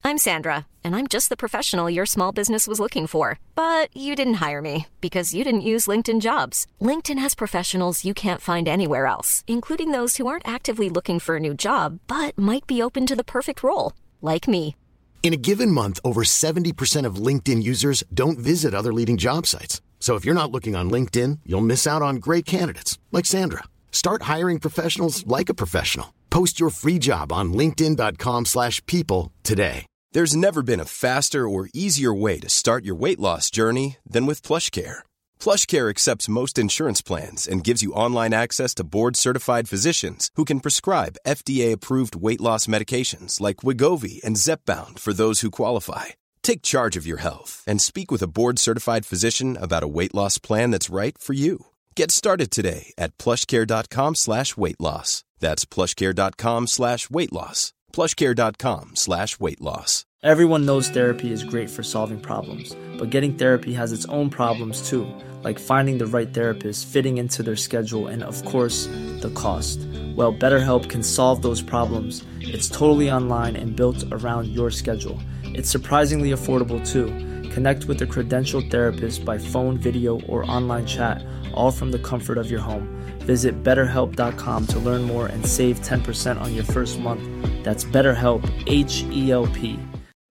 I'm Sandra, and I'm just the professional your small business was looking for. But you didn't hire me because you didn't use LinkedIn Jobs. LinkedIn has professionals you can't find anywhere else, including those who aren't actively looking for a new job, but might be open to the perfect role, like me. In a given month, over 70% of LinkedIn users don't visit other leading job sites. So if you're not looking on LinkedIn, you'll miss out on great candidates like Sandra. Start hiring professionals like a professional. Post your free job on linkedin.com/people today. There's never been a faster or easier way to start your weight loss journey than with PlushCare. PlushCare accepts most insurance plans and gives you online access to board-certified physicians who can prescribe FDA-approved weight loss medications like Wegovy and Zepbound for those who qualify. Take charge of your health and speak with a board-certified physician about a weight loss plan that's right for you. Get started today at plushcare.com/weight loss. That's plushcare.com/weight loss. plushcare.com/weight loss. Everyone knows therapy is great for solving problems, but getting therapy has its own problems too, like finding the right therapist, fitting into their schedule, and of course, the cost. Well, BetterHelp can solve those problems. It's totally online and built around your schedule. It's surprisingly affordable too. Connect with a credentialed therapist by phone, video, or online chat, all from the comfort of your home. Visit BetterHelp.com to learn more and save 10% on your first month. That's BetterHelp, H-E-L-P.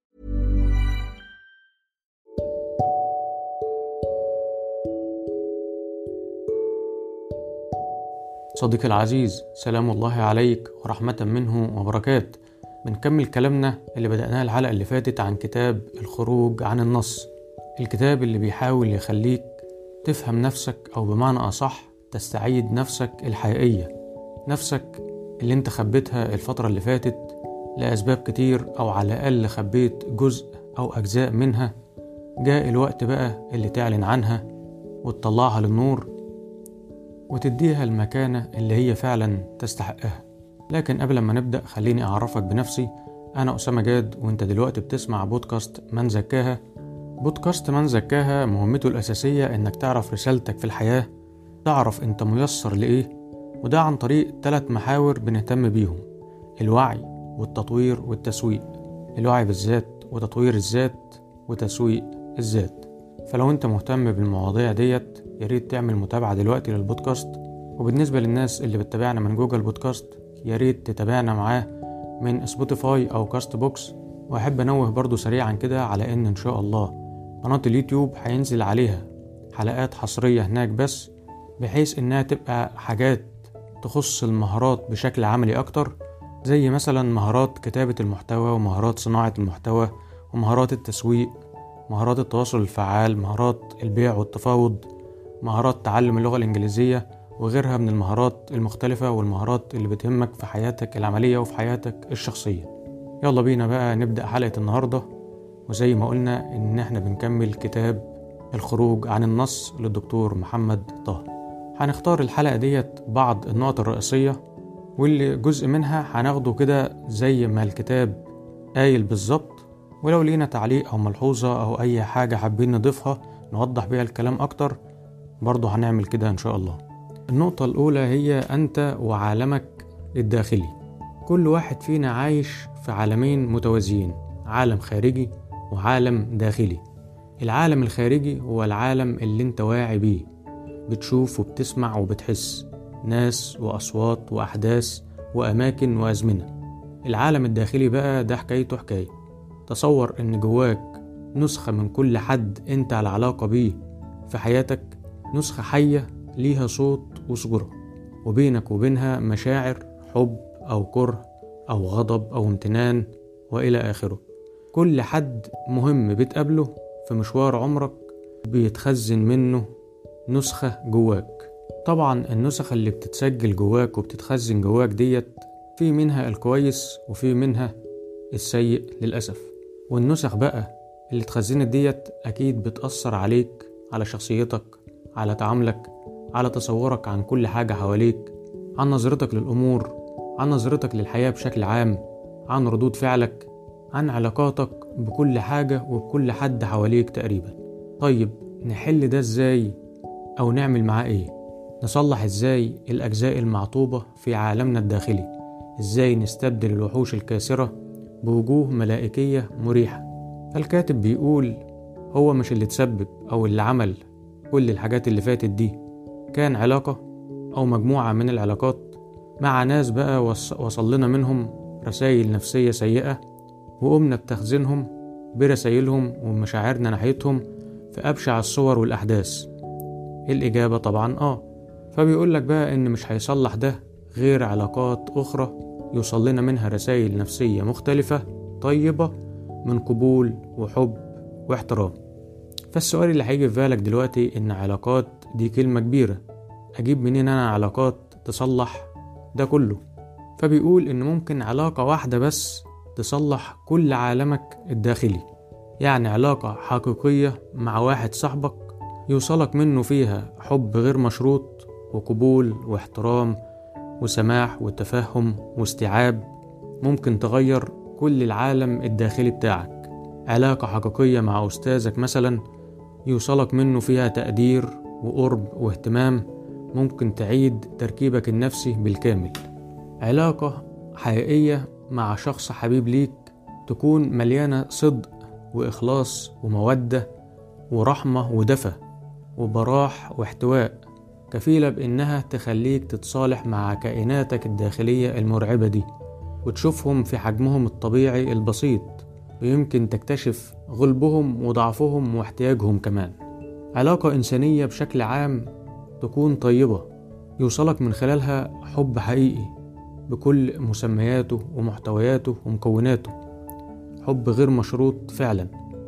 صديقي العزيز، سلام الله عليك ورحمة منه وبركاته. بنكمل كلامنا اللي بدأناه الحلقة اللي فاتت عن كتاب الخروج عن النص، الكتاب اللي بيحاول يخليك تفهم نفسك، أو بمعنى أصح تستعيد نفسك الحقيقية، نفسك اللي انت خبيتها الفترة اللي فاتت لأسباب كتير، أو على الأقل خبيت جزء أو أجزاء منها. جاء الوقت بقى اللي تعلن عنها وتطلعها للنور وتديها المكانة اللي هي فعلا تستحقها. لكن قبل ما نبدأ خليني أعرفك بنفسي. أنا أسامة جاد، وانت دلوقتي بتسمع بودكاست من زكاها. بودكاست من زكاها مهمته الأساسية إنك تعرف رسالتك في الحياة، تعرف انت ميسر لإيه، وده عن طريق 3 محاور بنهتم بيهم: الوعي والتطوير والتسويق. الوعي بالذات وتطوير الذات وتسويق الذات. فلو انت مهتم بالمواضيع ديت ياريت تعمل متابعة دلوقتي للبودكاست. وبالنسبة للناس اللي بتتابعنا من جوجل بودكاست ياريت تتابعنا معاه من سبوتيفاي أو كاست بوكس. وأحب أنوه برضو سريعا كده على إن شاء الله قناة اليوتيوب هينزل عليها حلقات حصرية هناك، بس بحيث إنها تبقى حاجات تخص المهارات بشكل عملي أكتر، زي مثلا مهارات كتابة المحتوى، ومهارات صناعة المحتوى، ومهارات التسويق، مهارات التواصل الفعال، مهارات البيع والتفاوض، مهارات تعلم اللغة الإنجليزية، وغيرها من المهارات المختلفة والمهارات اللي بتهمك في حياتك العملية وفي حياتك الشخصية. يلا بينا بقى نبدأ حلقة النهاردة. وزي ما قلنا إن احنا بنكمل كتاب الخروج عن النص للدكتور محمد طه. هنختار الحلقة ديت بعض النقط الرئيسية، واللي جزء منها هناخده كده زي ما الكتاب قايل بالظبط، ولو لينا تعليق أو ملحوظة أو أي حاجة حابين نضيفها نوضح بيها الكلام أكتر برضو هنعمل كده إن شاء الله. النقطة الأولى هي أنت وعالمك الداخلي. كل واحد فينا عايش في عالمين متوازيين، عالم خارجي وعالم داخلي. العالم الخارجي هو العالم اللي انت واعي بيه، بتشوف وبتسمع وبتحس ناس وأصوات وأحداث وأماكن وأزمنة. العالم الداخلي بقى ده حكايته حكاية. تصور ان جواك نسخة من كل حد انت على علاقة بيه في حياتك، نسخة حية ليها صوت وصورة، وبينك وبينها مشاعر حب أو كره أو غضب أو امتنان وإلى آخره. كل حد مهم بتقابله في مشوار عمرك بيتخزن منه نسخة جواك. طبعا النسخة اللي بتتسجل جواك وبتتخزن جواك ديت في منها الكويس وفي منها السيء للأسف. والنسخ بقى اللي اتخزنت ديت أكيد بتأثر عليك، على شخصيتك، على تعاملك، على تصورك عن كل حاجة حواليك، عن نظرتك للأمور، عن نظرتك للحياة بشكل عام، عن ردود فعلك، عن علاقاتك بكل حاجة وبكل حد حواليك تقريبا. طيب نحل ده ازاي؟ أو نعمل معاه ايه؟ نصلح ازاي الأجزاء المعطوبة في عالمنا الداخلي؟ ازاي نستبدل الوحوش الكاسرة بوجوه ملائكية مريحة. الكاتب بيقول هو مش اللي تسبب أو اللي عمل كل الحاجات اللي فاتت دي، كان علاقة أو مجموعة من العلاقات مع ناس بقى وصل لنا منهم رسائل نفسية سيئة، وقمنا بتخزينهم برسائلهم ومشاعرنا ناحيتهم في أبشع الصور والأحداث. الإجابة طبعا فبيقول لك بقى إن مش هيصلح ده غير علاقات أخرى يوصل لنا منها رسائل نفسية مختلفة طيبة من قبول وحب واحترام. فالسؤال اللي هيجي في بالك دلوقتي إن علاقات دي كلمة كبيرة، أجيب منين أنا علاقات تصلح ده كله؟ فبيقول إن ممكن علاقة واحدة بس تصلح كل عالمك الداخلي. يعني علاقة حقيقية مع واحد صاحبك يوصلك منه فيها حب غير مشروط وقبول واحترام وسماح وتفهم واستيعاب، ممكن تغير كل العالم الداخلي بتاعك. علاقة حقيقية مع أستاذك مثلا يوصلك منه فيها تقدير وقرب واهتمام، ممكن تعيد تركيبك النفسي بالكامل. علاقة حقيقية مع شخص حبيب ليك تكون مليانة صدق وإخلاص ومودة ورحمة ودفى وبراح واحتواء، كفيلة بإنها تخليك تتصالح مع كائناتك الداخلية المرعبة دي وتشوفهم في حجمهم الطبيعي البسيط، ويمكن تكتشف غلبهم وضعفهم واحتياجهم كمان. علاقة إنسانية بشكل عام تكون طيبة يوصلك من خلالها حب حقيقي بكل مسمياته ومحتوياته ومكوناته، حب غير مشروط فعلا.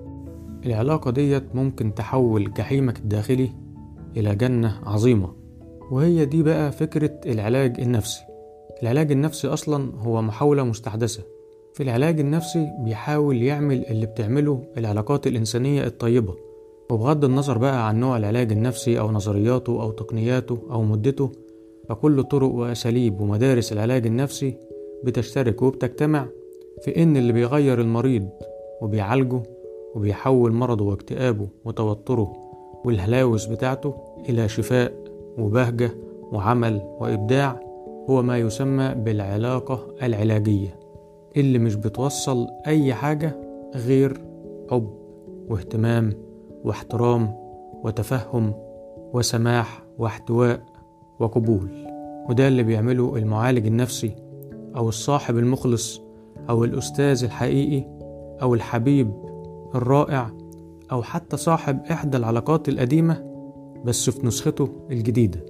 العلاقة ديت ممكن تحول جحيمك الداخلي إلى جنة عظيمة. وهي دي بقى فكرة العلاج النفسي. العلاج النفسي أصلا هو محاولة مستحدثة. في العلاج النفسي بيحاول يعمل اللي بتعمله العلاقات الإنسانية الطيبة، وبغض النظر بقى عن نوع العلاج النفسي أو نظرياته أو تقنياته أو مدته، فكل طرق وأساليب ومدارس العلاج النفسي بتشترك وبتجتمع في إن اللي بيغير المريض وبيعالجه وبيحول مرضه واكتئابه وتوتره والهلاوس بتاعته إلى شفاء وبهجة وعمل وإبداع هو ما يسمى بالعلاقة العلاجية، اللي مش بتوصل أي حاجة غير حب واهتمام واحترام وتفهم وسماح واحتواء وقبول. وده اللي بيعمله المعالج النفسي أو الصاحب المخلص أو الأستاذ الحقيقي أو الحبيب الرائع أو حتى صاحب إحدى العلاقات القديمة بس في نسخته الجديدة.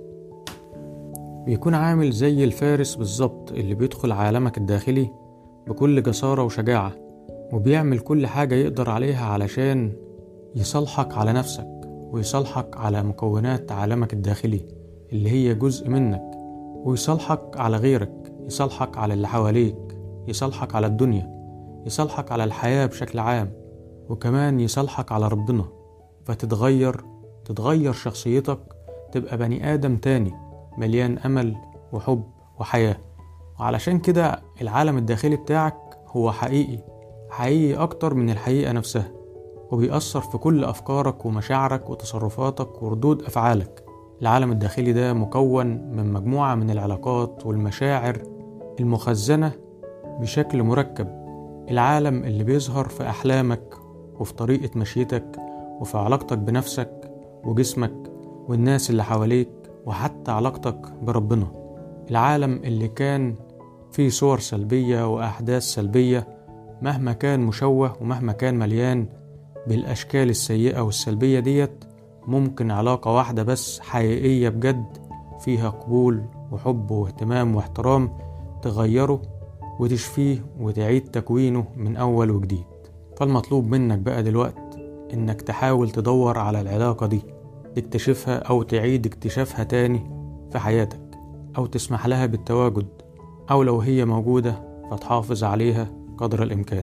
بيكون عامل زي الفارس بالظبط اللي بيدخل عالمك الداخلي بكل جسارة وشجاعة، وبيعمل كل حاجة يقدر عليها علشان يصالحك على نفسك ويصالحك على مكونات عالمك الداخلي اللي هي جزء منك، ويصالحك على غيرك، يصالحك على اللي حواليك، يصالحك على الدنيا، يصالحك على الحياة بشكل عام، وكمان يصالحك على ربنا. فتتغير شخصيتك، تبقى بني آدم تاني مليان أمل وحب وحياة. وعلشان كده العالم الداخلي بتاعك هو حقيقي أكتر من الحقيقة نفسها، وبيأثر في كل أفكارك ومشاعرك وتصرفاتك وردود أفعالك. العالم الداخلي ده مكون من مجموعة من العلاقات والمشاعر المخزنة بشكل مركب. العالم اللي بيظهر في أحلامك وفي طريقة مشيتك وفي علاقتك بنفسك وجسمك والناس اللي حواليك وحتى علاقتك بربنا. العالم اللي كان فيه صور سلبية وأحداث سلبية مهما كان مشوه ومهما كان مليان بالأشكال السيئة والسلبية ديت، ممكن علاقة واحدة بس حقيقية بجد فيها قبول وحب واهتمام واحترام تغيره وتشفيه وتعيد تكوينه من أول وجديد. فالمطلوب منك بقى دلوقت إنك تحاول تدور على العلاقة دي، تكتشفها أو تعيد اكتشافها تاني في حياتك، أو تسمح لها بالتواجد، أو لو هي موجودة فتحافظ عليها قدر الإمكان.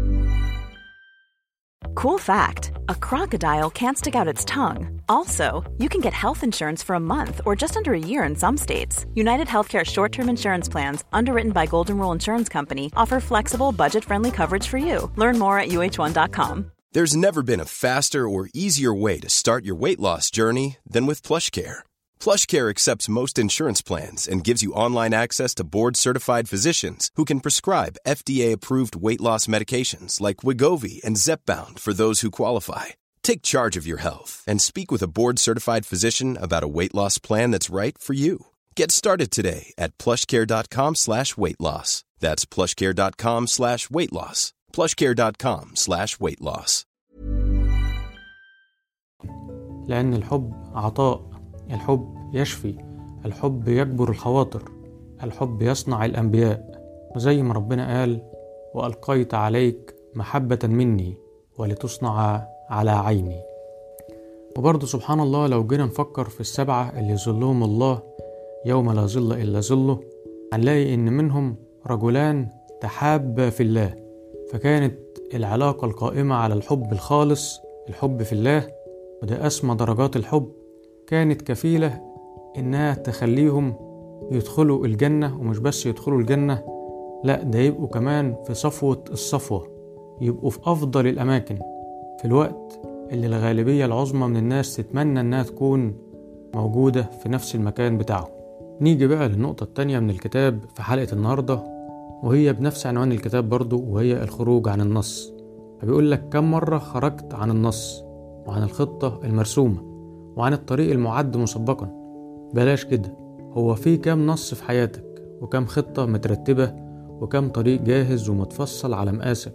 Cool fact, a crocodile can't stick out its tongue. Also, you can get health insurance for a month or just under a year in some states. United Healthcare short-term insurance plans, underwritten by Golden Rule Insurance Company, offer flexible, budget-friendly coverage for you. Learn more at uh1.com. There's never been a faster or easier way to start your weight loss journey than with PlushCare. PlushCare accepts most insurance plans and gives you online access to board-certified physicians who can prescribe FDA-approved weight loss medications like Wegovy and Zepbound for those who qualify. Take charge of your health and speak with a board-certified physician about a weight loss plan that's right for you. Get started today at plushcare.com/weight-loss. That's plushcare.com/weight-loss. plushcare.com/weight-loss. لأن الحب عطاء، الحب يشفي، الحب يجبر الخواطر، الحب يصنع الأنبياء. وزي ما ربنا قال: وألقيت عليك محبة مني ولتصنع على عيني. وبرضه سبحان الله لو جينا نفكر في السبعة اللي ظلهم الله يوم لا ظل إلا ظله، هنلاقي إن منهم رجلان تحابا في الله، فكانت العلاقة القائمة على الحب الخالص، الحب في الله، وده أسمى درجات الحب، كانت كفيلة إنها تخليهم يدخلوا الجنة. ومش بس يدخلوا الجنة، لا ده يبقوا كمان في صفوة الصفوة، يبقوا في أفضل الأماكن في الوقت اللي الغالبية العظمى من الناس تتمنى إنها تكون موجودة في نفس المكان بتاعه. نيجي بقى للنقطة التانية من الكتاب في حلقة النهاردة، وهي بنفس عنوان الكتاب برضو، وهي الخروج عن النص. فبيقول لك: كم مرة خرجت عن النص وعن الخطة المرسومة وعن الطريق المعد مسبقا؟ بلاش كده، هو في كم نص في حياتك، وكم خطة مترتبة، وكم طريق جاهز ومتفصل على مقاسك.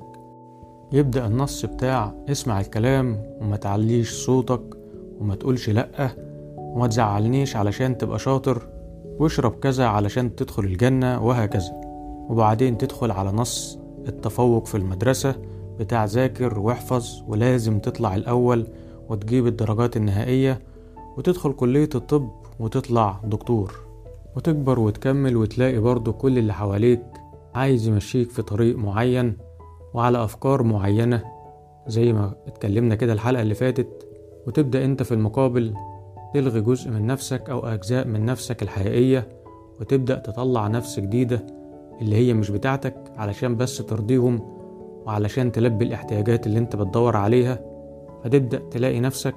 يبدأ النص بتاع: اسمع الكلام وما تعليش صوتك وما تقولش لأ وما تزعلنيش علشان تبقى شاطر، واشرب كذا علشان تدخل الجنة، وهكذا. وبعدين تدخل على نص التفوق في المدرسة بتاع ذاكر واحفظ ولازم تطلع الأول وتجيب الدرجات النهائية، وتدخل كلية الطب وتطلع دكتور، وتكبر وتكمل وتلاقي برضو كل اللي حواليك عايز يمشيك في طريق معين وعلى أفكار معينة زي ما اتكلمنا كده الحلقة اللي فاتت، وتبدأ انت في المقابل تلغي جزء من نفسك أو أجزاء من نفسك الحقيقية، وتبدأ تطلع نفس جديدة اللي هي مش بتاعتك علشان بس ترضيهم وعلشان تلبي الاحتياجات اللي انت بتدور عليها. فتبدأ تلاقي نفسك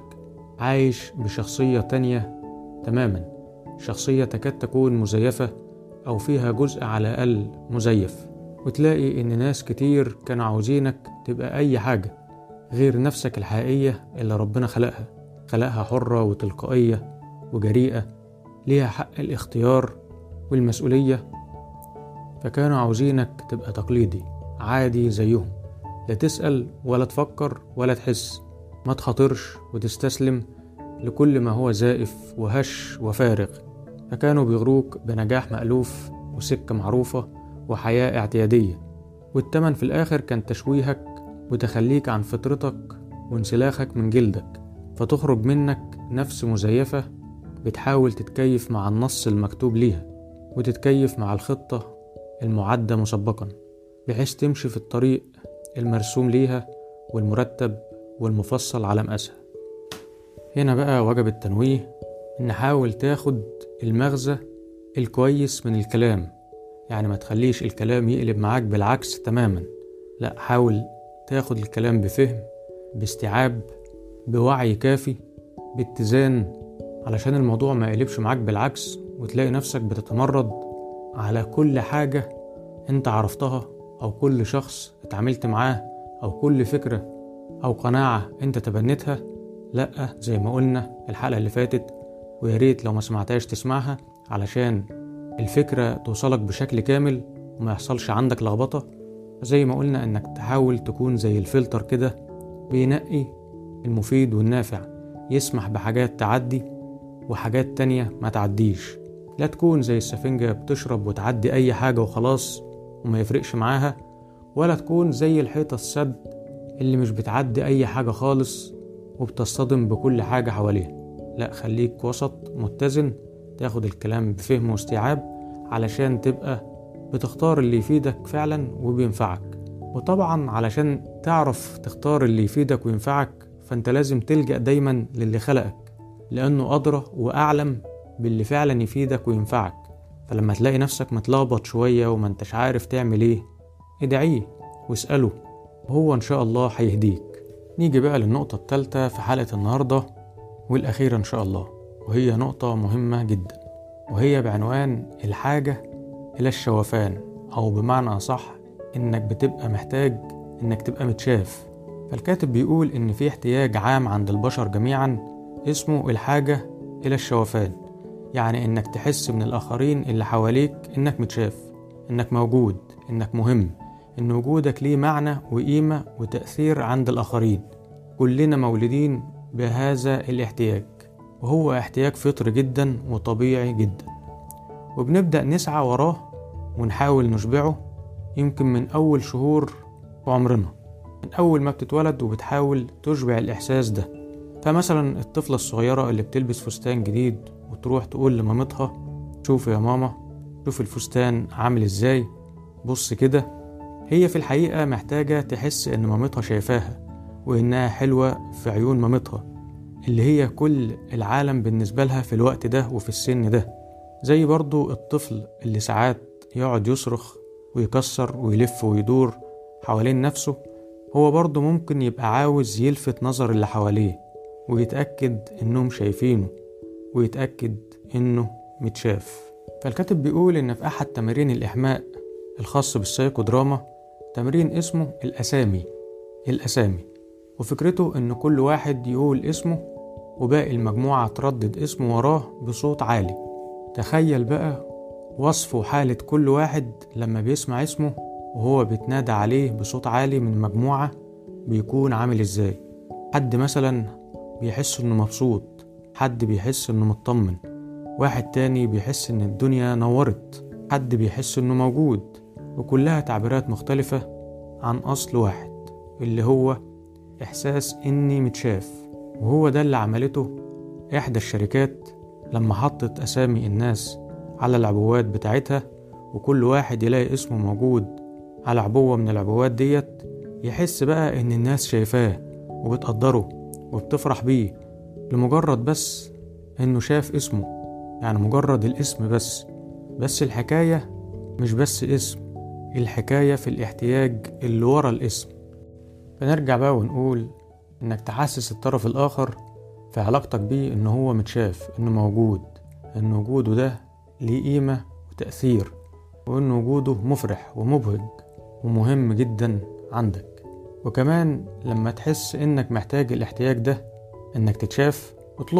عايش بشخصية تانية تماما، شخصية تكاد تكون مزيفة أو فيها جزء على الأقل مزيف. وتلاقي إن ناس كتير كانوا عاوزينك تبقى أي حاجة غير نفسك الحقيقية اللي ربنا خلقها حرة وتلقائية وجريئة، ليها حق الاختيار والمسؤولية. فكانوا عاوزينك تبقى تقليدي عادي زيهم، لا تسأل ولا تفكر ولا تحس، ما تخاطرش وتستسلم لكل ما هو زائف وهش وفارغ. فكانوا بيغروك بنجاح مألوف وسكة معروفة وحياة اعتيادية، والتمن في الآخر كان تشويهك وتخليك عن فطرتك وانسلاخك من جلدك، فتخرج منك نفس مزيفة بتحاول تتكيف مع النص المكتوب ليها وتتكيف مع الخطة المعدة مسبقا، بحيث تمشي في الطريق المرسوم ليها والمرتب والمفصل على مقاسها. هنا بقى وجب التنويه إن حاول تاخد المغزى الكويس من الكلام، يعني ما تخليش الكلام يقلب معاك بالعكس تماما، لا حاول تاخد الكلام بفهم، باستيعاب، بوعي كافي، باتزان، علشان الموضوع ما يقلبش معاك بالعكس وتلاقي نفسك بتتمرد على كل حاجة انت عرفتها أو كل شخص اتعاملت معاه أو كل فكرة أو قناعة انت تبنتها. لأ، زي ما قلنا الحلقة اللي فاتت، وياريت لو ما سمعتهاش تسمعها علشان الفكرة توصلك بشكل كامل وما يحصلش عندك لخبطة. زي ما قلنا انك تحاول تكون زي الفلتر كده بينقي المفيد والنافع، يسمح بحاجات تعدي وحاجات تانية ما تعديش. لا تكون زي السفنجة بتشرب وتعدي اي حاجة وخلاص وما يفرقش معاها، ولا تكون زي الحيطة السد اللي مش بتعدي اي حاجة خالص وبتصطدم بكل حاجة حواليها. لا، خليك وسط متزن، تاخد الكلام بفهم واستيعاب علشان تبقى بتختار اللي يفيدك فعلا وبينفعك. وطبعا علشان تعرف تختار اللي يفيدك وينفعك فانت لازم تلجأ دايما للي خلقك، لأنه أدرى وأعلم باللي فعلا يفيدك وينفعك. فلما تلاقي نفسك متلخبط شوية وما انتش عارف تعمل ايه، ادعيه واسأله وهو ان شاء الله هيهديك. نيجي بقى للنقطة الثالثة في حلقة النهاردة والأخيرة ان شاء الله، وهي نقطة مهمة جدا، وهي بعنوان الحاجة إلى الشوفان، أو بمعنى أصح إنك بتبقى محتاج إنك تبقى متشاف. فالكاتب بيقول إن في احتياج عام عند البشر جميعا اسمه الحاجة إلى الشوفان، يعني إنك تحس من الآخرين اللي حواليك إنك متشاف، إنك موجود، إنك مهم، إن وجودك ليه معنى وقيمة وتأثير عند الآخرين. كلنا مولودين بهذا الاحتياج، وهو احتياج فطري جدا وطبيعي جدا، وبنبدأ نسعى وراه ونحاول نشبعه يمكن من أول شهور عمرنا، من أول ما بتتولد وبتحاول تشبع الإحساس ده. فمثلا الطفلة الصغيرة اللي بتلبس فستان جديد وتروح تقول لمامتها شوف يا ماما، شوف الفستان عامل ازاي، بص كده. هي في الحقيقة محتاجة تحس ان مامتها شايفاها وانها حلوة في عيون مامتها، اللي هي كل العالم بالنسبة لها في الوقت ده وفي السن ده. زي برضو الطفل اللي ساعات يقعد يصرخ ويكسر ويلف ويدور حوالين نفسه، هو برضو ممكن يبقى عاوز يلفت نظر اللي حواليه ويتأكد انهم شايفينه ويتأكد انه متشاف. فالكاتب بيقول ان في احد تمارين الإحماء الخاص بالسايكودراما تمرين اسمه الأسامي، وفكرته ان كل واحد يقول اسمه وباقي المجموعة تردد اسمه وراه بصوت عالي. تخيل بقى وصف وحالة كل واحد لما بيسمع اسمه وهو بيتنادى عليه بصوت عالي من مجموعة بيكون عامل ازاي. حد مثلا بيحس انه مبسوط، حد بيحس انه مطمن، واحد تاني بيحس ان الدنيا نورت، حد بيحس انه موجود، وكلها تعبيرات مختلفة عن اصل واحد اللي هو احساس اني متشاف. وهو ده اللي عملته احدى الشركات لما حطت اسامي الناس على العبوات بتاعتها، وكل واحد يلاقي اسمه موجود على عبوة من العبوات ديت، يحس بقى ان الناس شايفاه وبتقدره وبتفرح بيه لمجرد بس انه شاف اسمه، يعني مجرد الاسم بس الحكاية مش بس اسم، الحكاية في الاحتياج اللي ورا الاسم. فنرجع بقى ونقول انك تحسس الطرف الاخر في علاقتك بيه انه هو متشاف، انه موجود، ان وجوده ده ليه قيمة وتأثير، وان وجوده مفرح ومبهج ومهم جدا عندك. وكمان لما تحس انك محتاج الاحتياج ده انك تتشاف،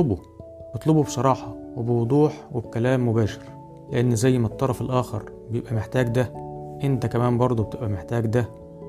اطلبه بصراحة وبوضوح وبكلام مباشر، لان زي ما الطرف الاخر بيبقى محتاج ده، انت كمان برضو بتبقى محتاج ده.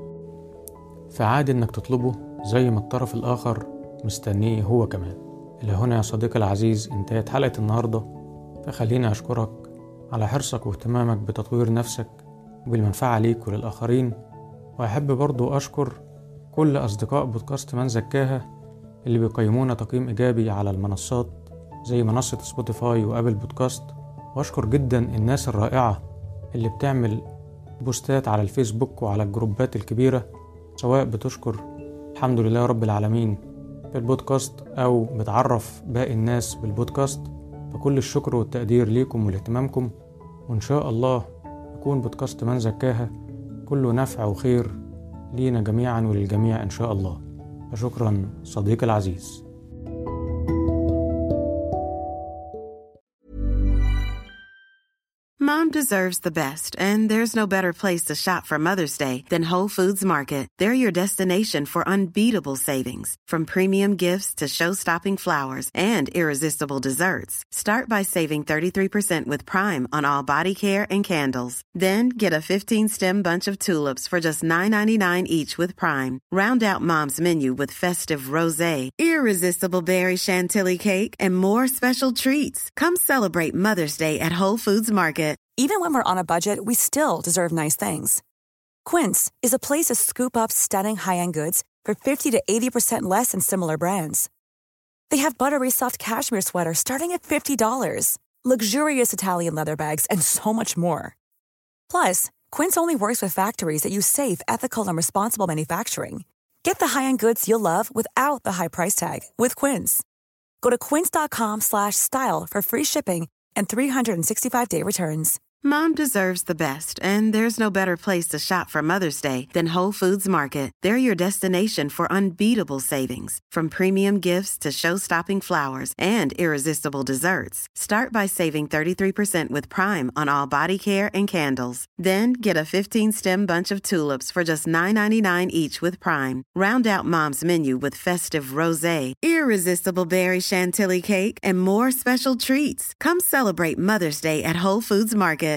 فعادي انك تطلبه زي ما الطرف الاخر مستنيه هو كمان. إلى هنا يا صديقي العزيز انتهت حلقة النهاردة، فخليني اشكرك على حرصك واهتمامك بتطوير نفسك وبالمنفعة ليك وللآخرين. وأحب برضو أشكر كل أصدقاء بودكاست من زكاها اللي بيقيمونا تقييم إيجابي على المنصات زي منصة سبوتيفاي وأبل بودكاست. وأشكر جدا الناس الرائعة اللي بتعمل بوستات على الفيسبوك وعلى الجروبات الكبيرة، سواء بتشكر الحمد لله رب العالمين في البودكاست أو بتعرف باقي الناس بالبودكاست. فكل الشكر والتقدير ليكم ولاهتمامكم، وإن شاء الله يكون بودكاست من زكاها كله نفع وخير لينا جميعا وللجميع إن شاء الله. فشكرا صديقي العزيز. Mom deserves the best, and there's no better place to shop for Mother's Day than Whole Foods Market. They're your destination for unbeatable savings, from premium gifts to show-stopping flowers and irresistible desserts. Start by saving 33% with Prime on all body care and candles. Then get a 15-stem bunch of tulips for just $9.99 each with Prime. Round out Mom's menu with festive rosé, irresistible berry chantilly cake, and more special treats. Come celebrate Mother's Day at Whole Foods Market. Even when we're on a budget, we still deserve nice things. Quince is a place to scoop up stunning high-end goods for 50 to 80% less than similar brands. They have buttery soft cashmere sweaters starting at $50, luxurious Italian leather bags, and so much more. Plus, Quince only works with factories that use safe, ethical, and responsible manufacturing. Get the high-end goods you'll love without the high price tag with Quince. Go to quince.com/style for free shipping and 365-day returns. Mom deserves the best, and there's no better place to shop for Mother's Day than Whole Foods Market. They're your destination for unbeatable savings, from premium gifts to show-stopping flowers and irresistible desserts. Start by saving 33% with Prime on all body care and candles. Then get a 15-stem bunch of tulips for just $9.99 each with Prime. Round out Mom's menu with festive rosé, irresistible berry chantilly cake, and more special treats. Come celebrate Mother's Day at Whole Foods Market.